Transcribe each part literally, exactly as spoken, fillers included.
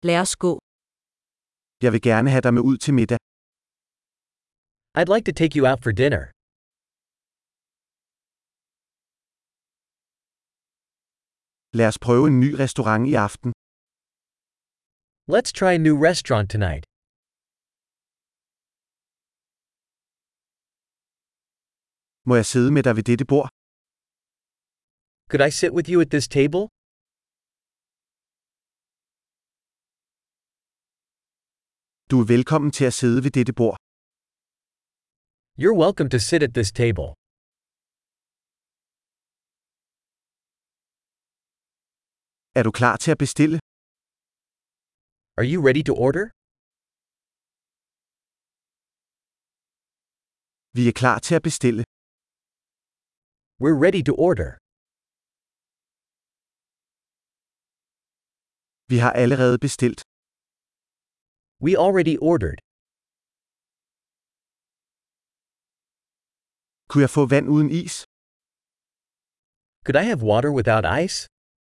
Lad os gå. Jeg vil gerne have dig med ud til middag. I'd like to take you out for dinner. Lad os prøve en ny restaurant i aften. Let's try a new restaurant tonight. Må jeg sidde med dig ved dette bord? Could I sit with you at this table? Du er velkommen til at sidde ved dette bord. You're welcome to sit at this table. Er du klar til at bestille? Are you ready to order? Vi er klar til at bestille. We're ready to order. Vi har allerede bestilt. We already ordered. Kunne jeg få vand uden is? Could I have water without ice?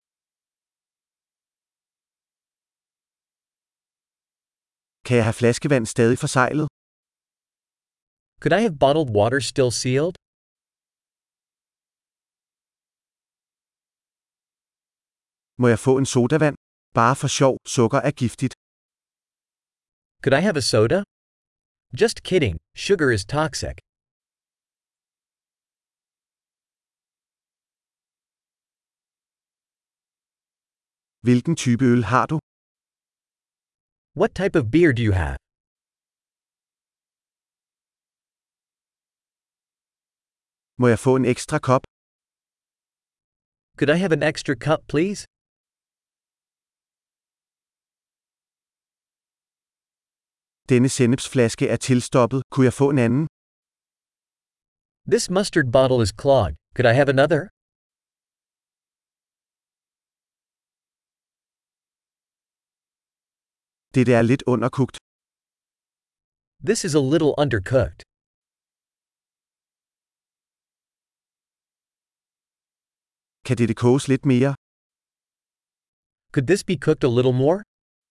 Kan jeg have flaskevand stadig forseglet? Could I have bottled water still sealed? Må jeg få en sodavand? Bare for sjov, sukker er giftigt. Could I have a soda? Just kidding, sugar is toxic. Hvilken type øl har du? What type of beer do you have? Må jeg få en ekstra kop? Could I have an extra cup, please? Denne sennepsflaske er tilstoppet. Kunne jeg få en anden? This mustard bottle is clogged. Could I have another? Dette er lidt underkogt. This is a little undercooked. Kan dette koges lidt mere? Could this be cooked a little more?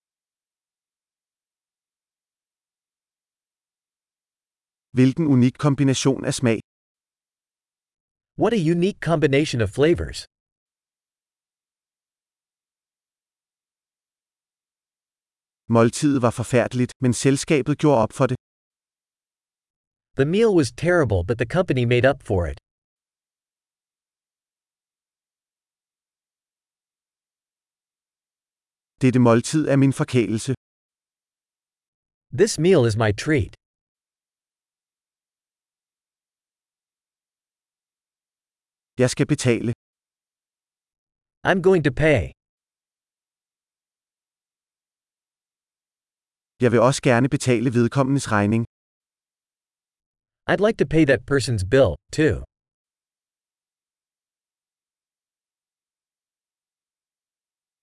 Hvilken unik kombination af smag. What a unique combination of flavors. Måltidet var forfærdeligt, men selskabet gjorde op for det. The meal was terrible, but the company made up for it. Dette måltid er min forkælelse. This meal is my treat. Jeg skal betale. I'm going to pay. Jeg vil også gerne betale vedkommendes regning. I'd like to pay that person's bill, too.